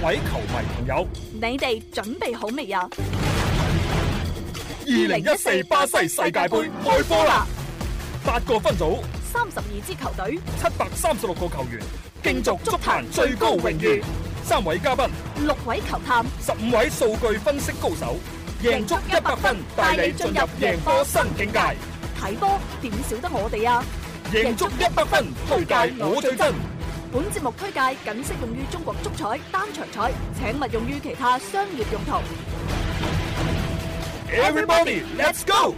位球迷朋友， 你哋準備好未啊 ？2014巴西世界盃開波啦！8個分組 ，32支球隊 ，736個球員，競逐足壇最高榮譽。3位嘉賓 ，6位球探 ，15位數據分析高手，贏足100分，帶你進入贏波新境界。 睇波點少得我哋啊！ 贏足100分，推介我最真。 本節目推介僅適用於中國足彩單場彩，請勿用於其他商業用途。 Everybody, let's go！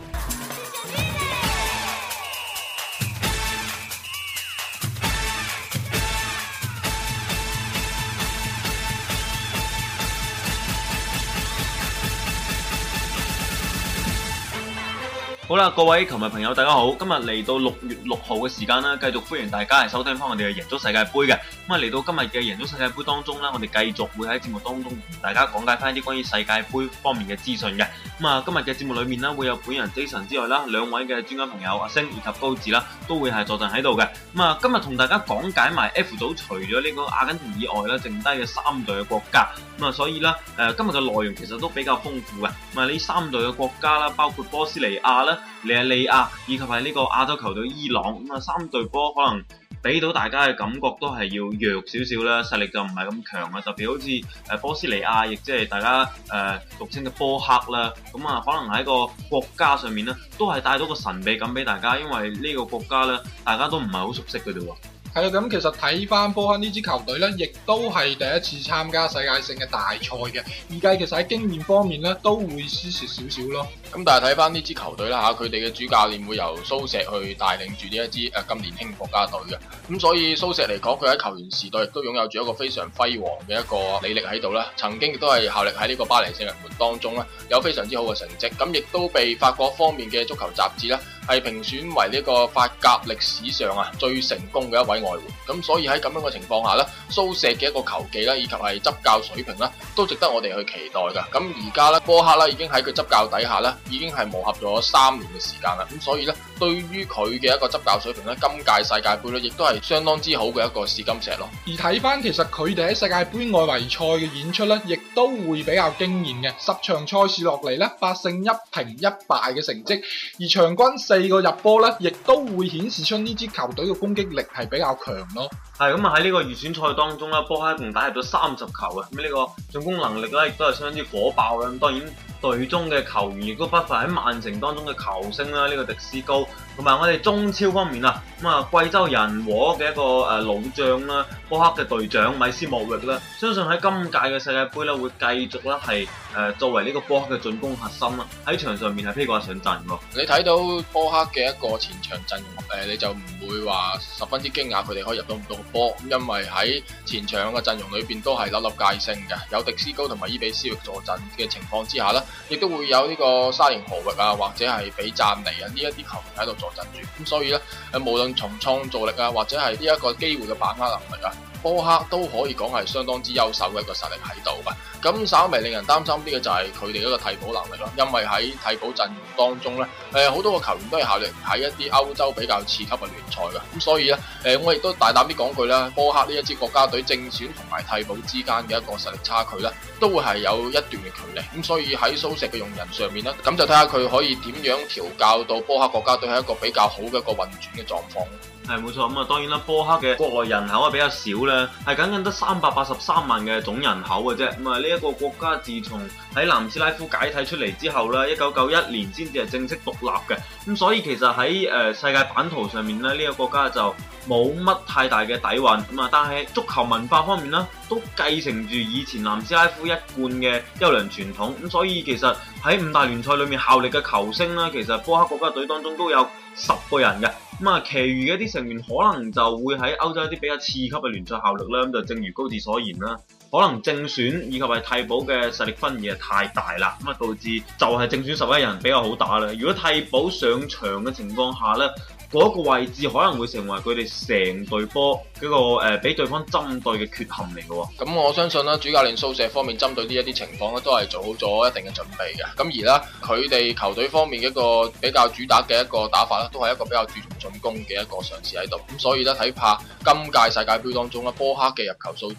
好啦，各位球迷朋友，大家好！今日嚟到6月6號嘅時間啦，繼續歡迎大家係收聽翻我哋嘅贏足世界盃嘅。咁啊，嚟到今日嘅贏足世界盃當中啦，我哋繼續會喺節目當中同大家講解翻一啲關於世界盃方面嘅資訊嘅。咁啊，今日嘅節目裏面啦，會有本人 Jason 之外啦，兩位嘅專家朋友阿星以及高志啦，都會係坐陣喺度嘅。咁啊，今日同大家講解埋 F 組除咗呢個阿根廷以外啦，剩低嘅3隊嘅國家。咁啊，所以啦，今日嘅內容其實都比較豐富嘅。咁啊，呢3隊嘅國家啦，包括波斯尼亞啦、尼日利亞以及係呢個亞洲球隊伊朗，咁啊3隊波可能俾到大家嘅感覺都係要弱少少啦，實力就唔係咁強啊。特別好似波斯尼亞，亦即係大家俗稱嘅波克啦，咁啊可能喺個國家上面咧，都係帶到個神秘感俾大家，因為呢個國家咧，大家都唔係好熟悉嘅啫喎。 係啊，咁其實睇翻波克呢支球隊咧，亦都係第一次參加世界性嘅大賽嘅，預計其實喺經驗方面咧都會輸蝕少少咯。 咁但係睇翻呢支球隊啦嚇，佢哋嘅主教練會由蘇石去帶領住呢一支咁年輕國家隊嘅，咁所以蘇石嚟講，佢喺球員時代亦都擁有住一個非常輝煌嘅一個履歷喺度啦。曾經亦都係效力喺呢個巴黎聖日門當中啦，有非常之好嘅成績，咁亦都被法國方面嘅足球雜誌啦係評選為呢個法甲歷史上最成功嘅一位外援。咁所以喺咁樣嘅情況下咧，蘇石嘅一個球技啦，以及係執教水平啦，都值得我哋去期待噶。咁而家咧，波克啦已經喺佢執教底下咧，已經係磨合咗3年嘅時間啦。咁所以咧，對於佢嘅一個執教水平咧，今屆世界盃咧，亦都係相當之好嘅一個試金石咯。 而睇翻其實佢哋喺世界盃外圍賽嘅演出咧，亦都會比較驚豔嘅。10場賽事落嚟咧，8勝1平1敗嘅成績，而場均4個入波咧，亦都會顯示出呢支球隊嘅攻擊力係比較強咯。 係咁啊！喺呢個預選賽當中啦，波克一共打入咗30球啊！咁呢個進攻能力咧，亦都係相當之火爆啦。咁當然隊中嘅球員亦都不乏喺曼城當中嘅球星啦，呢個迪斯高，同埋我哋中超方面啊，咁啊貴州人和嘅一個老將啦，波克嘅隊長米斯莫域啦，相信喺今屆嘅世界盃咧會繼續咧係作為呢個波克嘅進攻核心啦，喺場上面係披掛上陣喎。 你睇到波克嘅一個前場陣容，你就唔會話十分之驚訝佢哋可以入到咁多個波，因為喺前場嘅陣容裏邊都係粒粒皆星嘅，有迪斯高同埋伊比斯域坐鎮嘅情況之下呢，亦都會有呢個沙連河域或者係比贊尼呢一啲球員喺度坐鎮住，咁所以呢，無論從創造力或者係呢一個機會嘅把握能力波克都可以講係相當之優秀嘅一個實力喺度嘅。咁稍微令人擔心啲嘅就係佢哋一個替補能力咯，因為喺替補陣容當中咧，好多個球員都係效力喺一啲歐洲比較次級嘅聯賽嘅，咁所以咧，我亦都大膽啲講句啦，波克呢一支國家隊正選同埋替補之間嘅一個實力差距咧，都會係有一段嘅距離，咁所以喺蘇石嘅用人上面咧，咁就睇下佢可以點樣調教到波克國家隊係一個比較好嘅一個運轉嘅狀況。 係冇錯，咁啊當然啦，波克嘅國內人口啊比較少咧，係僅僅得383萬嘅總人口嘅啫。咁啊呢一個國家自從喺南斯拉夫解體出嚟之後咧，1991年先至係正式獨立嘅。咁所以其實喺世界版圖上面咧，呢個國家就冇乜太大嘅底蘊。咁啊，但係足球文化方面咧，都繼承住以前南斯拉夫一貫嘅優良傳統。咁所以其實喺5大聯賽裏面效力嘅球星咧，其實波克國家隊當中都有10個人嘅。咁啊，其餘嘅一啲成員可能就會喺歐洲一啲比較次級嘅聯賽效力啦。咁就正如高志所言啦，可能正選以及係替補嘅實力分野太大啦，咁啊導致就係正選11人比較好打啦。如果替補上場嘅情況下咧，嗰個位置可能會成為佢哋成隊波嗰個俾對方針對嘅缺陷嚟嘅喎。 咁我相信啦，主教練蘇石方面針對呢一啲情況咧，都係做好咗一定嘅準備嘅。咁而啦，佢哋球隊方面嘅一個比較主打嘅一個打法咧，都係一個比較注重進攻嘅一個嘗試喺度。咁所以咧，睇怕今屆世界盃當中咧，波克嘅入球數字咧，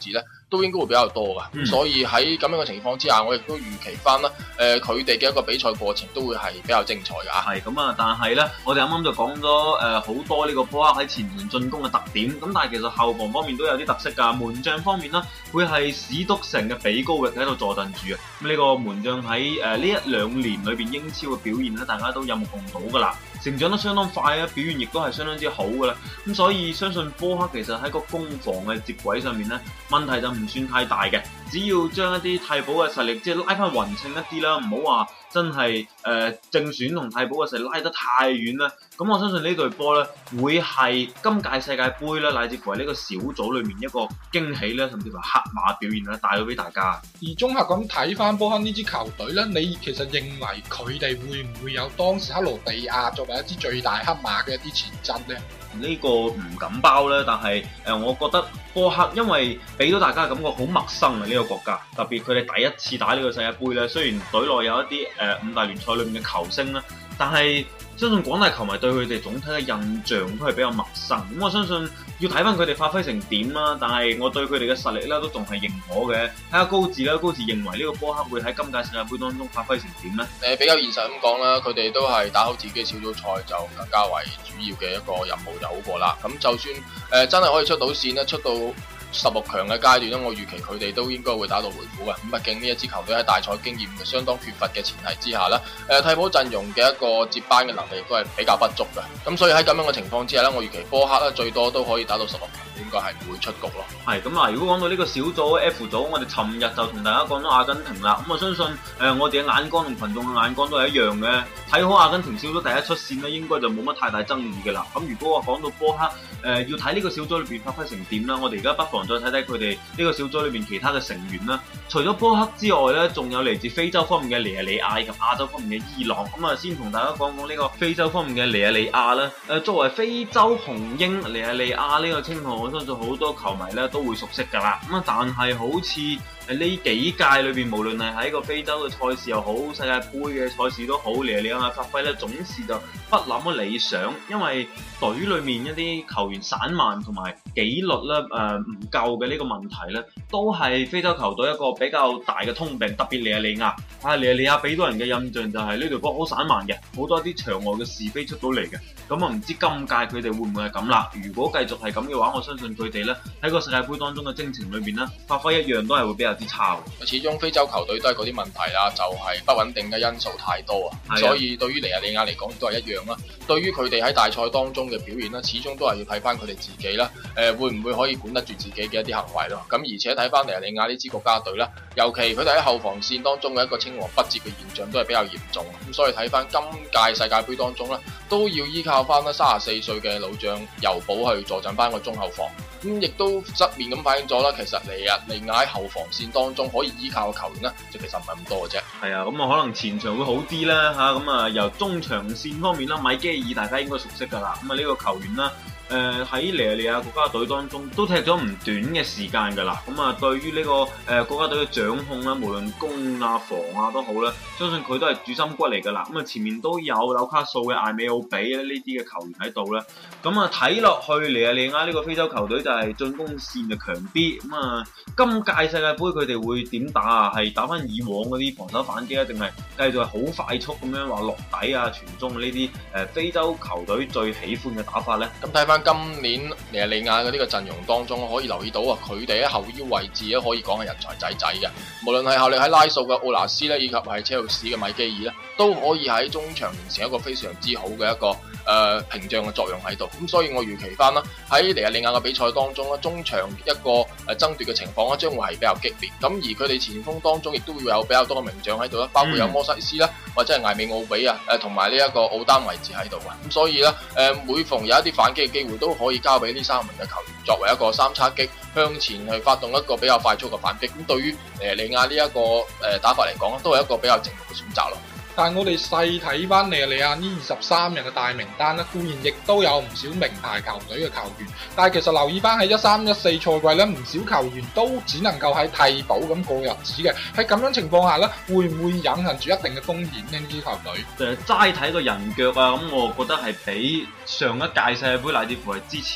都應該會比較多噶。咁所以喺咁樣嘅情況之下，我亦都預期翻啦，佢哋嘅一個比賽過程都會係比較精彩噶。 係咁啊，但係咧，我哋啱啱就講咗好多呢個波克喺前場進攻嘅特點，咁但係其實後防方面都有啲特色㗎。門將方面呢，會係史篤城嘅比高域喺度坐鎮住啊。咁呢個門將喺呢一兩年裏邊英超嘅表現咧，大家都有目共睹㗎啦，成長得相當快啊，表現亦都係相當之好㗎啦。咁所以相信波克其實喺個攻防嘅接軌上面咧，問題就唔算太大嘅，只要將一啲替補嘅實力即係拉翻勻稱一啲啦，唔好話真係正選同替補嘅實力拉得太遠啦。咁我相信呢隊波咧會係今屆世界盃咧，乃至乎係呢個小組裏面一個驚喜咧，甚至乎黑馬表現咧帶到俾大家。 而綜合咁睇翻波克呢支球隊咧，你其實認為佢哋會唔會有當時克羅地亞作為一支最大黑馬嘅一啲潛質咧？ 呢個唔敢包咧，但係我覺得波克因為俾到大家嘅感覺好陌生啊，呢個國家，特別佢哋第一次打呢個世界盃咧，雖然隊內有一啲五大聯賽裏面嘅球星啦，但係相信廣大球迷對佢哋總體嘅印象都係比較陌生。咁我相信要睇翻佢哋發揮成點啦，但係我對佢哋嘅實力咧都仲係認可嘅。睇下高志啦，高志認為呢個波克會喺今屆世界盃當中發揮成點咧？ 比較現實咁講啦，佢哋都係打好自己小組賽就更加為主要嘅一個任務就好過啦。咁就算真係可以出到線咧，出到16強嘅階段咧，我預期佢哋都應該會打到回府嘅。咁畢竟呢一支球隊喺大賽經驗相當缺乏嘅前提之下咧，替補陣容嘅一個接班嘅能力都係比較不足嘅。咁所以喺咁樣嘅情況之下咧，我預期波克咧最多都可以打到16強，應該係唔會出局咯。 係咁啊！如果講到呢個小組 F 組，我哋尋日就同大家講咗阿根廷啦。咁我相信我哋嘅眼光同群眾嘅眼光都係一樣嘅，睇好阿根廷小組第一出線咧，應該就冇乜太大爭議嘅啦。咁如果我講到波克要睇呢個小組裏邊發揮成點啦，我哋而家不妨再睇睇佢哋呢個小組裏邊其他嘅成員啦。除咗波克之外咧，仲有嚟自非洲方面嘅尼日利亞以及亞洲方面嘅伊朗。咁啊，先同大家講講呢個非洲方面嘅尼日利亞啦。作為非洲雄鷹尼日利亞呢個稱號，我相信好多球迷咧都會熟悉㗎啦。咁啊，但係好似呢幾屆裏邊，無論係喺個非洲嘅賽事又好，世界盃嘅賽事都好，尼日利亞嘅發揮咧總是就不那麼理想，因為隊裏面一啲球員散漫同埋紀律咧唔夠嘅呢個問題咧，都係非洲球隊一個比較大嘅通病，特別尼日利亞。尼日利亞俾到人嘅印象就係呢隊波好散漫嘅，好多啲場外嘅是非出到嚟嘅。咁啊，唔知今屆佢哋會唔會係咁啦？如果繼續係咁嘅話，我相信佢哋咧喺個世界盃當中嘅征程裏邊咧，發揮一樣都係會比較之差。 始終非洲球隊都係嗰啲問題啦，就係不穩定嘅因素太多啊。所以對於尼日利亞嚟講都係一樣啦。對於佢哋喺大賽當中嘅表現咧，始終都係要睇翻佢哋自己啦。會唔會可以管得住自己嘅一啲行為咯？咁而且睇翻尼日利亞呢支國家隊啦，尤其佢哋喺後防線當中嘅一個青黃不接嘅現象都係比較嚴重。咁所以睇翻今屆世界盃當中咧，都要依靠翻啦34歲嘅老將尤保去坐鎮翻個中後防。咁亦都側面咁反映咗啦，其實尼日利亞喺後防線當中可以依靠嘅球員咧，就其實唔係咁多嘅啫。 係啊，咁啊可能前場會好啲啦嚇，咁啊由中場線方面啦，米基爾大家應該熟悉㗎啦，咁啊呢個球員啦。喺尼日利亞國家隊當中都踢咗唔短嘅時間㗎啦，咁啊對於呢個國家隊嘅掌控啦，無論攻啊防啊都好啦，相信佢都係主心骨嚟㗎啦。咁啊前面都有紐卡素嘅艾美奧比呢啲嘅球員喺度啦，咁啊睇落去尼日利亞呢個非洲球隊就係進攻線就強啲。咁啊今屆世界盃佢哋會點打啊？係打翻以往嗰啲防守反擊啊，定係繼續係好快速咁樣話落底啊傳中呢啲非洲球隊最喜歡嘅打法咧？ 咁睇翻今年尼日利亞嘅呢個陣容當中，可以留意到啊，佢哋喺後腰位置咧可以講係人才仔仔嘅。無論係效力喺拉素嘅奧拿斯咧，以及係車路士嘅米基爾咧，都可以喺中場形成一個非常之好嘅一個屏障嘅作用喺度。咁所以我預期翻啦，喺尼日利亞嘅比賽當中咧，中場一個爭奪嘅情況咧，將會係比較激烈。咁而佢哋前鋒當中亦都會有比較多嘅名將喺度啦，包括有摩西斯啦，或者係艾美奧比啊，同埋呢一個奧丹位置喺度嘅。咁所以咧，每逢有一啲反擊嘅機會，都可以交俾呢3名嘅球員作為一個三叉戟向前去發動一個比較快速嘅反擊。咁對於尼日利亞呢一個打法嚟講，都係一個比較正路嘅選擇咯。 但係我哋細睇翻尼日利亞呢23人嘅大名單咧，固然亦都有唔少名牌球隊嘅球員，但係其實留意翻喺13-14賽季咧，唔少球員都只能夠喺替補咁過日子嘅。喺咁樣情況下咧，會唔會隱含住一定嘅風險呢？呢支球隊齋睇個人腳啊，咁我覺得係比上一屆世界盃乃至乎係之前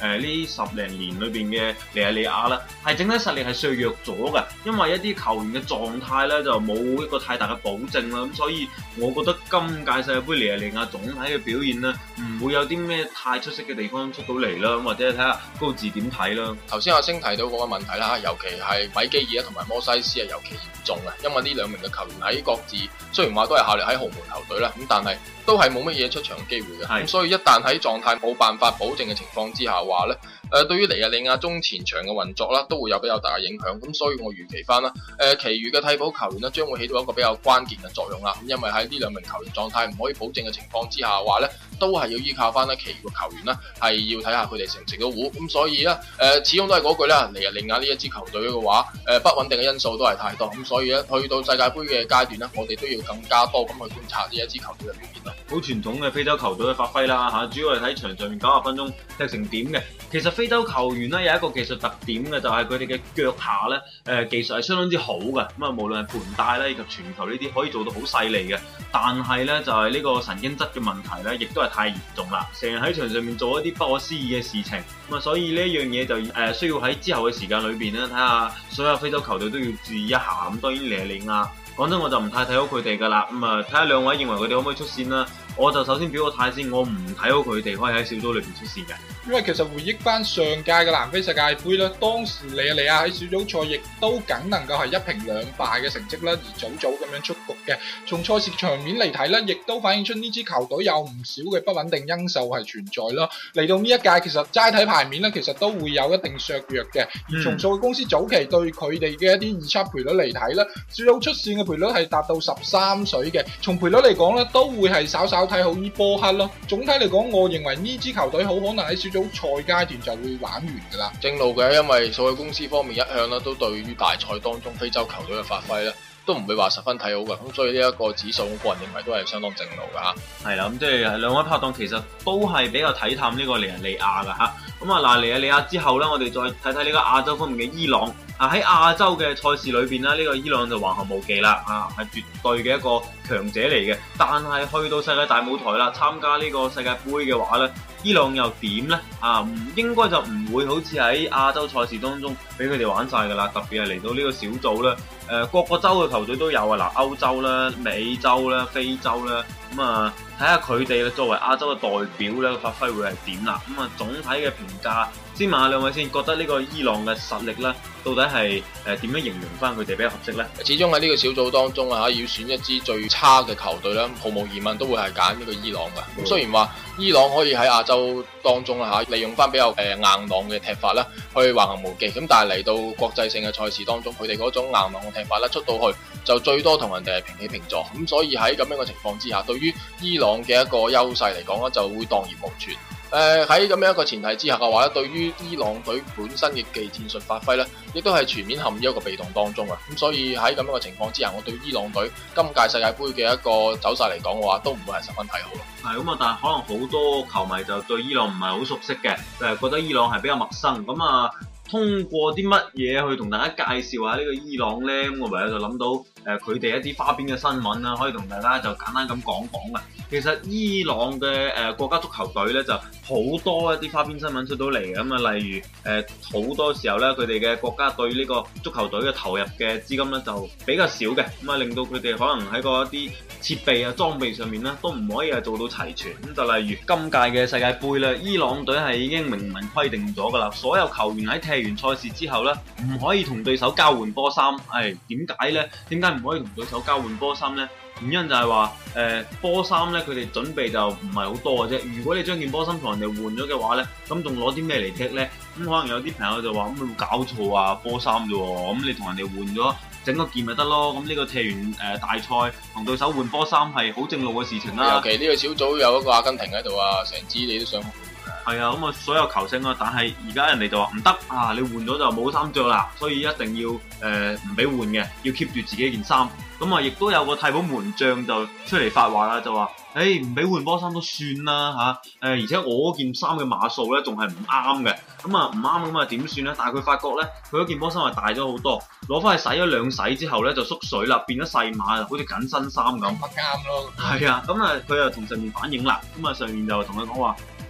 呢10零年裏邊嘅尼日利亞啦，係整體實力係削弱咗嘅，因為一啲球員嘅狀態咧就冇一個太大嘅保證啦，咁所以我覺得今屆世界盃尼日利亞總體嘅表現咧唔會有啲咩太出色嘅地方出到嚟啦，或者睇下高志點睇啦。 頭先阿星提到嗰個問題啦，尤其係米基爾同埋摩西斯係尤其嚴重嘅，因為呢兩名嘅球員喺各自雖然話都係效力喺豪門球隊啦，咁但係都係冇乜嘢出場嘅機會嘅，咁所以一旦喺狀態冇辦法保證嘅情況之下話咧，對於尼日利亞中前場嘅運作啦，都會有比較大嘅影響。咁所以我預期翻啦，其餘嘅替補球員呢，將會起到一個比較關鍵嘅作用啦。咁因為喺呢兩名球員狀態唔可以保證嘅情況之下話咧，都係要依靠翻咧其餘嘅球員啦，係要睇下佢哋成唔成到糊。咁所以咧，始終都係嗰句啦，尼日利亞呢一支球隊嘅話，不穩定嘅因素都係太多。咁所以咧，去到世界盃嘅階段咧，我哋都要更加多咁去觀察呢一支球隊嘅表現啦。 好傳統嘅非洲球隊嘅發揮啦嚇，主要係睇場上面90分鐘踢成點嘅。其實非洲球員咧有一個技術特點嘅，就係佢哋嘅腳下咧技術係相當之好嘅。咁啊，無論係盤帶咧以及傳球呢啲可以做到好細膩嘅，但係咧就係呢個神經質嘅問題咧，亦都係太嚴重啦。成日喺場上面做一啲不可思議嘅事情，咁啊，所以呢一樣嘢就需要喺之後嘅時間裏邊咧，睇下所有非洲球隊都要注意一下。咁當然尼日利亞講真我就唔太睇好佢哋噶啦。咁啊，睇下兩位認為佢哋可唔可以出線啦？我就首先表個態先，我唔睇好佢哋可以喺小組裏邊出線嘅。 因為其實回憶翻上屆嘅南非世界盃咧，當時尼日利亞喺小組賽亦都僅能夠係1平2敗嘅成績啦，而早咁樣出局嘅。從賽事場面嚟睇咧，亦都反映出呢支球隊有唔少嘅不穩定因素係存在咯。嚟到呢一屆，其實齋睇牌面咧，其實都會有一定削弱嘅。而從數據公司早期對佢哋嘅一啲預測賠率嚟睇咧，小組出線嘅賠率係達到13水嘅。從賠率嚟講咧，都會係稍稍睇好呢波克咯。總體嚟講，我認為呢支球隊好可能喺小組賽階段就會玩完噶啦。 正路嘅，因為數據公司方面一向咧都對於大賽當中非洲球隊嘅發揮咧，都唔會話十分睇好嘅。咁所以呢一個指數，我個人認為都係相當正路噶吓。 係啦，咁即係兩位拍檔其實都係比較睇淡呢個尼日利亞噶吓。咁啊嗱，尼日利亞之後咧，我哋再睇睇呢個亞洲方面嘅伊朗。喺亞洲嘅賽事裏邊呢，呢個伊朗就橫行無忌啦，係絕對嘅一個強者嚟嘅。但係去到世界大舞台啦，參加呢個世界盃嘅話呢，伊朗又點呢？應該就唔會好似喺亞洲賽事當中俾佢哋玩晒噶啦。特別係嚟到呢個小組咧，各個洲嘅球隊都有啊，嗱，歐洲啦、美洲啦、非洲啦，咁啊睇下佢哋作為亞洲嘅代表咧，發揮會係點啦。咁啊總體嘅評價，先問下兩位先，覺得呢個伊朗嘅實力咧，到底係點樣形容翻佢哋比較合適呢？ 始終喺呢個小組當中要選一支最差嘅球隊咧，毫無疑問都會係揀呢個伊朗嘅。咁雖然話伊朗可以喺亞洲當中利用翻比較硬朗嘅踢法啦，去橫行無忌。咁但係嚟到國際性嘅賽事當中，佢哋嗰種硬朗嘅踢法咧，出到去就最多同人哋係平起平坐。咁所以喺咁樣嘅情況之下，對於伊朗嘅一個優勢嚟講咧，就會蕩然無存。喺咁樣一個前提之下嘅話咧，對於伊朗隊本身嘅技戰術發揮咧，亦都係全面陷於一個被動當中啊！咁所以喺咁樣嘅情況之下，我對伊朗隊今屆世界盃嘅一個走勢嚟講嘅話，都唔會係十分睇好咯。 係咁啊，但係可能好多球迷就對伊朗唔係好熟悉嘅，就係覺得伊朗係比較陌生。咁啊，通過啲乜嘢去同大家介紹下呢個伊朗呢？咁我唯有就諗到佢哋一啲花邊嘅新聞啦，可以同大家就簡單咁講講嘅。其實伊朗嘅國家足球隊咧就好多一啲花邊新聞出到嚟嘅。咁啊，例如好多時候咧，佢哋嘅國家對呢個足球隊嘅投入嘅資金咧就比較少嘅，咁啊令到佢哋可能喺個一啲設備啊裝備上面咧都唔可以係做到齊全。咁就例如今屆嘅世界盃咧，伊朗隊係已經明文規定咗㗎啦，所有球員喺踢完賽事之後咧唔可以同對手交換波衫。點解咧？點解唔可以同對手交換波衫咧？原因就係話波衫咧，佢哋準備就唔係好多嘅啫。如果你將件波衫同人哋換咗嘅話咧，咁仲攞啲咩嚟踢咧？咁可能有啲朋友就話：咁有冇搞錯啊？波衫啫喎，咁你同人哋換咗整個件咪得咯？咁呢個踢完大賽同對手換波衫係好正路嘅事情啦。 尤其呢個小組有一個阿根廷喺度啊，成支你都想換。 係啊，咁啊所有球星啊，但係而家人哋就話唔得啊！你換咗就冇衫着啦，所以一定要唔俾換嘅，要 keep 住自己件衫。咁啊，亦都有個替補門將就出嚟發話啦，就話：唔俾換波衫都算啦嚇，而且我嗰件衫嘅碼數咧仲係唔啱嘅，咁啊唔啱咁啊點算咧？但係佢發覺咧，佢嗰件波衫係大咗好多，攞翻去洗咗兩洗之後咧就縮水啦，變咗細碼，好似緊身衫咁。 唔啱咯。 係啊，咁啊佢又同上面反映啦，咁啊上面就同佢講話。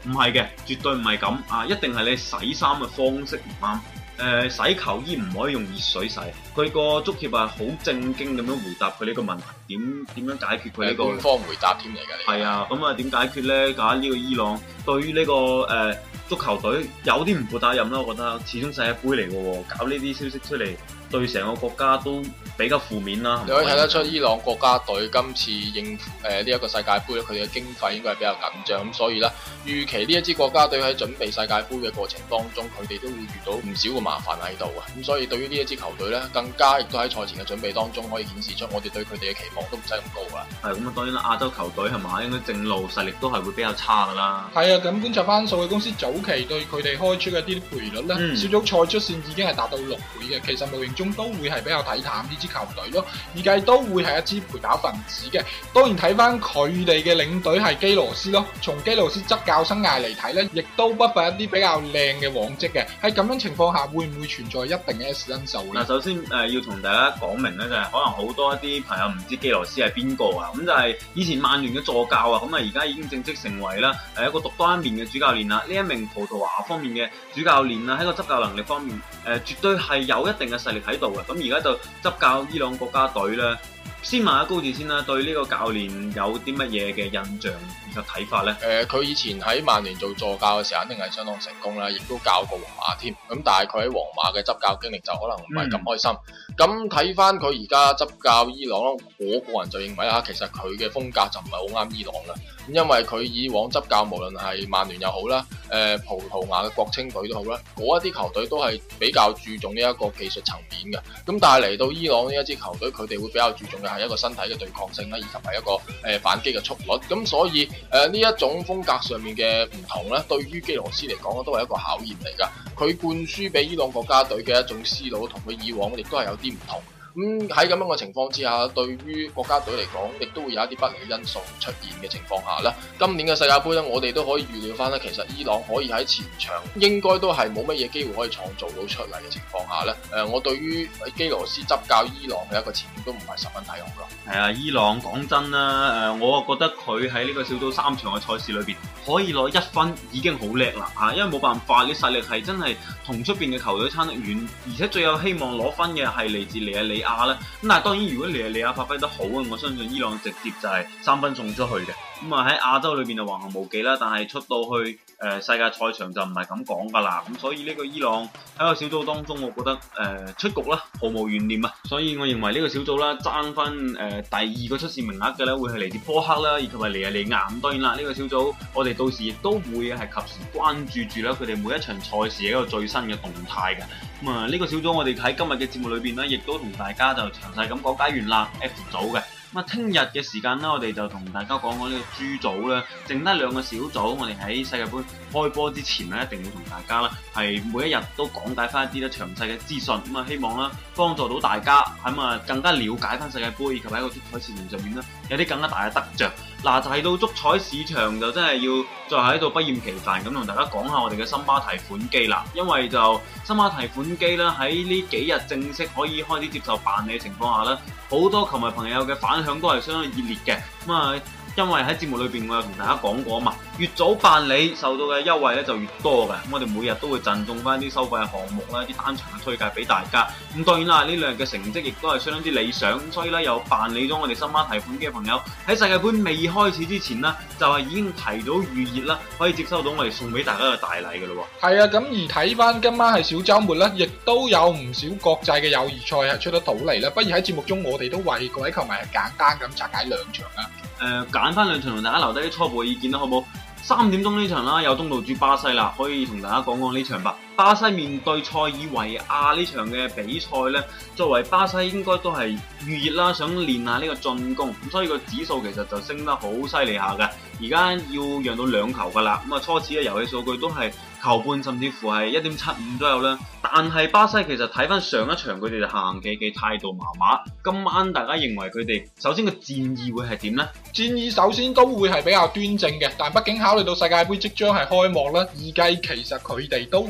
唔係嘅，絕對唔係咁啊！一定係你洗衫嘅方式唔啱。洗球衣唔可以用熱水洗，佢個足協係好正經咁樣回答佢呢個問題，點樣解決佢呢個官方回答添嚟㗎。 係啊，咁啊點解決咧？搞呢個伊朗對於呢個足球隊有啲唔負責任啦，我覺得始終世界盃嚟嘅喎，搞呢啲消息出嚟，對成個國家都比較負面啦。 你可以睇得出伊朗國家隊今次應付呢一個世界盃咧，佢哋嘅經費應該係比較緊張，咁所以咧預期呢一支國家隊喺準備世界盃嘅過程當中，佢哋都會遇到唔少嘅麻煩喺度啊。咁所以對於呢一支球隊咧，更加亦都喺賽前嘅準備當中可以顯示出我哋對佢哋嘅期望都唔使咁高啦。 係咁啊，當然啦，亞洲球隊係嘛，應該正路實力都係會比較差㗎啦。 係啊，咁觀察翻數據公司早期對佢哋開出嘅啲賠率咧，小組賽出線已經係達到6倍嘅，其實無形中都會係比較睇淡呢支球隊咯。預計都會係一支陪打分子嘅。當然睇翻佢哋嘅領隊係基羅斯咯，從基羅斯執教生涯嚟睇咧，亦都不乏一啲比較靚嘅往績嘅。喺咁樣情況下，會唔會存在一定嘅 S 因素咧？ 嗱，首先要同大家講明咧，就係可能好多一啲朋友唔知基羅斯係邊個啊，咁就係以前曼聯嘅助教啊，咁啊而家已經正式成為啦一個獨當一面嘅主教練啦。呢一名葡萄牙方面嘅主教練啊，喺個執教能力方面絕對係有一定嘅實力喺度嘅。咁而家就執教伊朗國家隊咧，先問下高志先啦，對呢個教練有啲乜嘢嘅印象以及睇法咧？ 佢以前喺曼聯做助教嘅時候，肯定係相當成功啦，亦都教過皇馬添。咁但係佢喺皇馬嘅執教經歷就可能唔係咁開心。咁睇翻佢而家執教伊朗咯，我個人就認為其實佢嘅風格就唔係好啱伊朗啦。咁因為佢以往執教無論係曼聯又好啦，葡萄牙嘅國青隊都好啦，嗰一啲球隊都係比較注重呢一個技術層面嘅。咁但係嚟到伊朗呢一支球隊，佢哋會比較注重嘅係一個身體嘅對抗性啦，以及係一個反擊嘅速率。咁所以呢一種風格上面嘅唔同咧，對於基羅斯嚟講都係一個考驗嚟㗎。佢灌輸俾伊朗國家隊嘅一種思路，同佢以往亦都係有啲唔同。咁喺咁樣嘅情況之下，對於國家隊嚟講，亦都會有一啲不利因素出現嘅情況下咧，今年嘅世界盃咧，我哋都可以預料翻咧，其實伊朗可以喺前場應該都係冇乜嘢機會可以創造到出嚟嘅情況下咧，我對於基羅斯執教伊朗嘅一個前景都唔係十分睇好咯。 係啊，伊朗講真啦，我覺得佢喺呢個小組3場嘅賽事裏邊可以攞1分已經好叻啦嚇，因為冇辦法，你實力係真係同出邊嘅球隊差得遠，而且最有希望攞分嘅係嚟自尼日利亞啦。咁但係當然，如果尼日利亞發揮得好啊，我相信伊朗直接就係3分送出去嘅。咁啊喺亞洲裏邊就橫行無忌啦，但係出到去世界賽場就唔係咁講噶啦。咁所以呢個伊朗喺個小組當中，我覺得出局啦，毫無懸念啊。所以我認為呢個小組啦，爭翻第2個出線名額嘅咧，會係嚟自波克啦，以及係尼日利亞。咁當然啦，呢個小組我哋到時亦都會係及時關注住啦，佢哋每一場賽事嘅一個最新嘅動態嘅。咁啊呢個小組我哋喺今日嘅節目裏邊咧，亦都同大家就詳細咁講解完啦 F 組嘅。咁啊，聽日嘅時間咧，我哋就同大家講講呢個 G 組啦，剩得2個小組，我哋喺世界盃開波之前咧，一定會同大家啦，係每一日都講解翻一啲咧詳細嘅資訊，咁啊希望啦幫助到大家，咁啊更加了解翻世界盃，以及喺個足彩市場上面咧有啲更加大嘅得着。嗱，提到足彩市場就真係要再喺度不厭其煩咁同大家講下我哋嘅森巴提款機啦，因為就森巴提款機啦喺呢幾日正式可以開始接受辦理嘅情況下咧，好多球迷朋友嘅反響都係相當熱烈嘅。咁啊，因為喺節目裏邊我有同大家講過啊嘛，越早辦理受到嘅優惠咧就越多嘅。咁我哋每日都會贈送翻啲收費嘅項目啦，啲單場嘅推介俾大家。咁當然啦，呢2日嘅成績亦都係相當之理想，所以咧有辦理咗我哋森巴提款機嘅朋友喺世界盃未開始之前呢，就係已經提早預熱啦，可以接收到我哋送俾大家嘅大禮嘅咯喎。 係啊，咁而睇翻今晚係小週末咧，亦都有唔少國際嘅友誼賽係出得到嚟啦。不如喺節目中我哋都為各位球迷係簡單咁拆解2場啦。 揀翻2場同大家留低啲初步嘅意見啦，好唔好？3點鐘呢場啦，有東道主巴西啦，可以同大家講講呢場吧。巴西面對塞爾維亞呢場嘅比賽呢，作為巴西應該都係預熱啦，想練下呢個進攻，咁所以個指數其實就升得好犀利下嘅。而家要讓到2球噶啦，咁啊初始嘅遊戲數據都係球半甚至乎係 1.75 左右啦。但係巴西其實睇翻上一場佢哋就行企企態度麻麻，今晚大家認為佢哋首先個戰意會係點呢？ 戰意首先都會係比較端正嘅，但畢竟考慮到世界盃即將係開幕啦，預計其實佢哋都會有一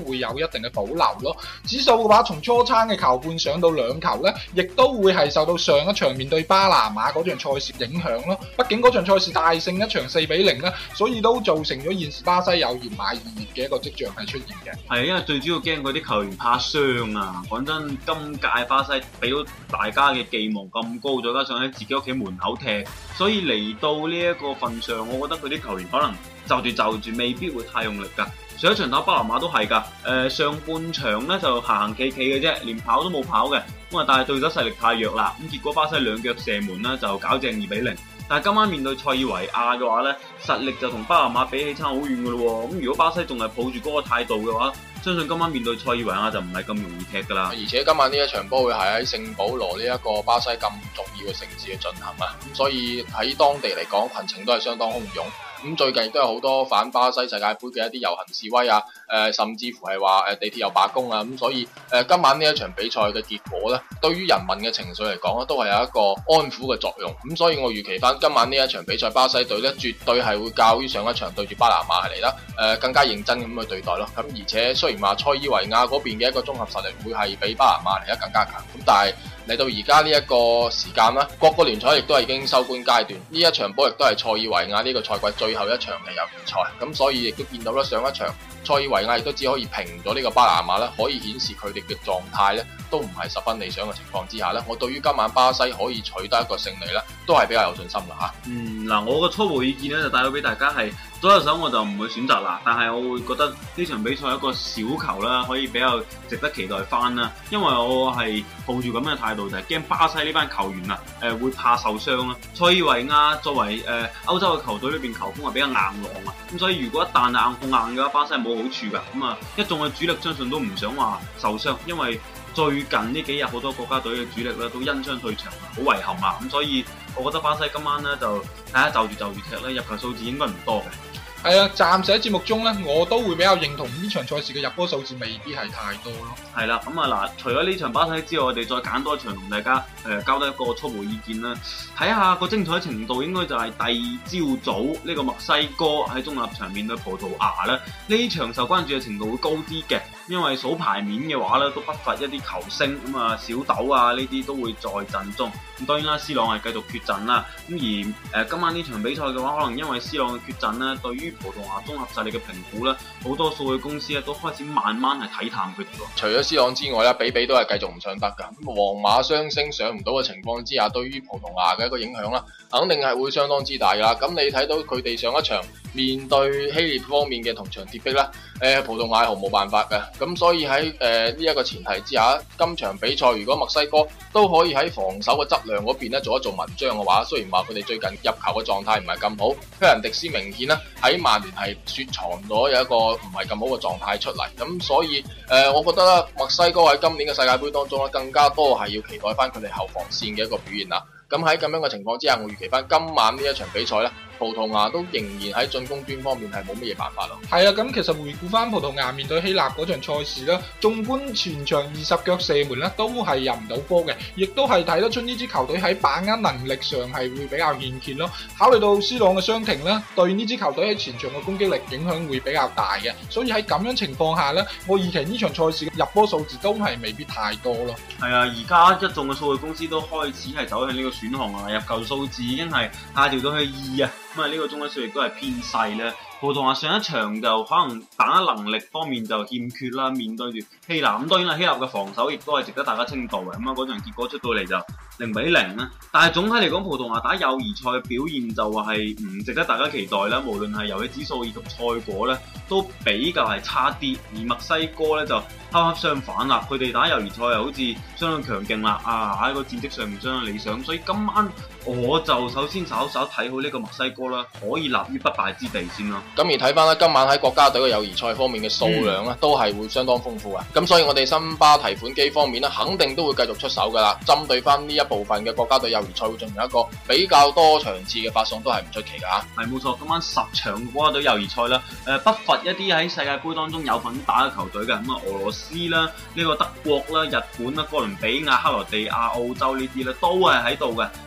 一定嘅保留咯。指數嘅話，從初參嘅球半上到2球咧，亦都會係受到上一場面對巴拿馬嗰場賽事影響咯。畢竟嗰場賽事大勝一場4-0啦，所以都造成咗現時巴西有熱買二熱嘅一個跡象係出現嘅。 係因為最主要驚嗰啲球員怕傷啊！講真，今屆巴西俾到大家嘅寄望咁高，再加上喺自己屋企門口踢，所以嚟到呢一個份上，我覺得佢啲球員可能就住未必會太用力㗎。上一場打巴拿馬都係㗎，上半場咧就行企嘅啫，連跑都冇跑嘅。咁啊，但係對手實力太弱啦，咁結果巴西兩腳射門啦，就搞正2-0。但係今晚面對塞爾維亞嘅話咧，實力就同巴拿馬比起差好遠㗎咯喎。咁如果巴西仲係抱住嗰個態度嘅話，相信今晚面對塞爾維亞就唔係咁容易踢㗎啦。 而且今晚呢一場波會係喺聖保羅呢一個巴西咁重要嘅城市去進行啊，咁所以喺當地嚟講，群情都係相當洶湧。咁最近亦都有好多反巴西世界盃嘅一啲遊行示威啊，甚至乎係話地鐵又罷工啊，咁所以今晚呢一場比賽嘅結果咧，對於人民嘅情緒嚟講咧，都係有一個安撫嘅作用。咁所以我預期翻今晚呢一場比賽，巴西隊咧絕對係會較於上一場對住巴拿馬係嚟啦，更加認真咁去對待咯。咁而且雖然話塞爾維亞嗰邊嘅一個綜合實力會係比巴拿馬嚟得更加強，咁但係嚟到而家呢一個時間啦，各個聯賽亦都係已經收官階段，呢一場波亦都係塞爾維亞呢個賽季最後一場嘅友誼賽，咁所以亦都見到啦，上一場塞爾維亞亦都只可以平咗呢個巴拿馬啦，可以顯示佢哋嘅狀態咧都唔係十分理想嘅情況之下咧，我對於今晚巴西可以取得一個勝利咧，都係比較有信心嘅嚇。 嗱，我個初步意見咧就帶到俾大家係左右手我就唔會選擇啦，但係我會覺得呢場比賽一個小球啦，可以比較值得期待翻啦，因為我係抱住咁嘅態度，就係驚巴西呢班球員啊會怕受傷啦。塞爾維亞作為歐洲嘅球隊裏邊球風係比較硬朗啊，咁所以如果一旦係硬碰硬嘅話，巴西係冇好處㗎。咁啊，一眾嘅主力相信都唔想話受傷，因為最近呢幾日好多國家隊嘅主力咧都因傷退場，好遺憾啊！咁所以我覺得巴西今晚咧就睇下就住踢咧，入球數字應該唔多嘅。 係啊，暫時喺節目中咧，我都會比較認同呢場賽事嘅入波數字未必係太多咯。 係啦，咁啊嗱，除咗呢場巴西之外，我哋再揀多一場同大家交低一個初步意見啦。睇下個精彩程度，應該就係第二朝早呢個墨西哥喺中立場面對葡萄牙啦。呢場受關注嘅程度會高啲嘅，因為數牌面嘅話咧，都不乏一啲球星咁啊，小豆啊呢啲都會在陣中。咁當然啦，C 朗係繼續缺陣啦。咁而今晚呢場比賽嘅話，可能因為 C 朗嘅缺陣咧，對於葡萄牙綜合實力嘅評估咧，好多數據公司咧都開始慢慢係睇淡佢哋咯。 除咗 C 朗之外咧，比都係繼續唔上得㗎。咁皇馬雙星上唔到嘅情況之下，對於葡萄牙嘅一個影響啦，肯定係會相當之大㗎啦。咁你睇到佢哋上一場面對希臘方面嘅銅牆鐵壁啦，葡萄牙係毫無辦法嘅。咁所以喺呢一個前提之下，今場比賽如果墨西哥都可以喺防守嘅質量嗰邊咧做一做文章嘅話，雖然話佢哋最近入球嘅狀態唔係咁好，菲蘭迪斯明顯啦喺曼聯係雪藏咗有一個唔係咁好嘅狀態出嚟。咁所以我覺得啦，墨西哥喺今年嘅世界盃當中咧，更加多係要期待翻佢哋後防線嘅一個表現啦。咁喺咁樣嘅情況之下，我預期翻今晚呢一場比賽咧，葡萄牙都仍然喺進攻端方面係冇乜嘢辦法咯。係啊，咁其實回顧翻葡萄牙面對希臘嗰場賽事啦，縱觀全場20腳射門咧，都係入唔到波嘅，亦都係睇得出呢支球隊喺把握能力上係會比較欠缺咯。考慮到 C 朗嘅傷停咧，對呢支球隊喺前場嘅攻擊力影響會比較大嘅，所以喺咁樣情況下咧，我預期呢場賽事嘅入波數字都係未必太多咯。 係啊，而家一眾嘅數據公司都開始係走向呢個選項啊，入球數字已經係下調到去2啊。咁啊，呢個中位數亦都係偏細咧。葡萄牙上一場就可能把握能力方面就欠缺啦，面對住希臘。咁當然啦，希臘嘅防守亦都係值得大家稱道嘅。咁啊，嗰場結果出到嚟就0-0啦。但係總體嚟講，葡萄牙打友誼賽嘅表現就係唔值得大家期待啦。無論係遊戲指數以及賽果咧，都比較係差啲。而墨西哥咧就恰恰相反啦，佢哋打友誼賽又好似相當強勁啦，喺個戰績上面相當理想。所以今晚我就首先稍睇好呢個墨西哥啦，可以立於不敗之地先咯。 咁而睇翻咧，今晚喺國家隊嘅友誼賽方面嘅數量咧，都係會相當豐富啊！咁所以我哋森巴提款機方面咧，肯定都會繼續出手噶啦。針對翻呢一部分嘅國家隊友誼賽，會進行一個比較多場次嘅發送，都係唔出奇噶嚇。 係冇錯，今晚10場國家隊友誼賽啦，不乏一啲喺世界盃當中有份打嘅球隊嘅，咁啊俄羅斯啦、呢個德國啦、日本啦、哥倫比亞、克羅地亞、澳洲呢啲咧，都係喺度嘅。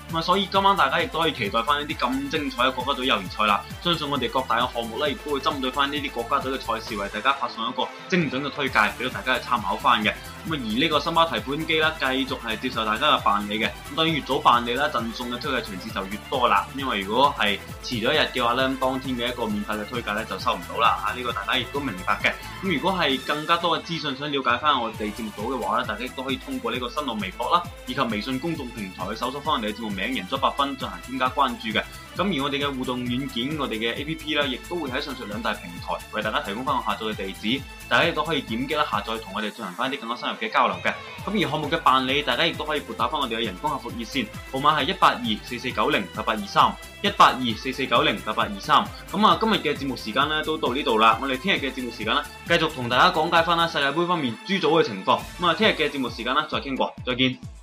咁啊，所以今晚大家亦都可以期待翻呢啲咁精彩嘅國家隊友誼賽啦。相信我哋各大嘅項目咧，亦都會針對翻呢啲國家隊嘅賽事，為大家發送一個精準嘅推介，俾到大家去參考翻嘅。咁啊，而呢個森巴提款機啦，繼續係接受大家嘅辦理嘅。咁當然越早辦理啦，贈送嘅推介場次就越多啦。因為如果係遲咗一日嘅話咧，當天嘅一個免費嘅推介咧就收唔到啦。呢個大家亦都明白嘅。咁如果係更加多嘅資訊想了解翻我哋節目組嘅話咧，大家亦都可以通過呢個新浪微博啦，以及微信公眾平台去搜索翻我哋嘅節目名贏足 100FUN進行添加關注嘅。咁而我哋嘅互動軟件，我哋嘅 APP 咧，亦都會喺上述兩大平台為大家提供翻個下載嘅地址，大家亦都可以點擊啦下載，同我哋進行翻啲更加深入嘅交流嘅。咁而項目嘅辦理，大家亦都可以撥打翻我哋嘅人工客服熱線，號碼係18244908823。18244908823。咁啊，今日嘅節目時間咧都到呢度啦。我哋聽日嘅節目時間咧，繼續同大家講解翻啦世界盃方面 G 組嘅情況。咁啊，聽日嘅節目時間咧再傾過，再見。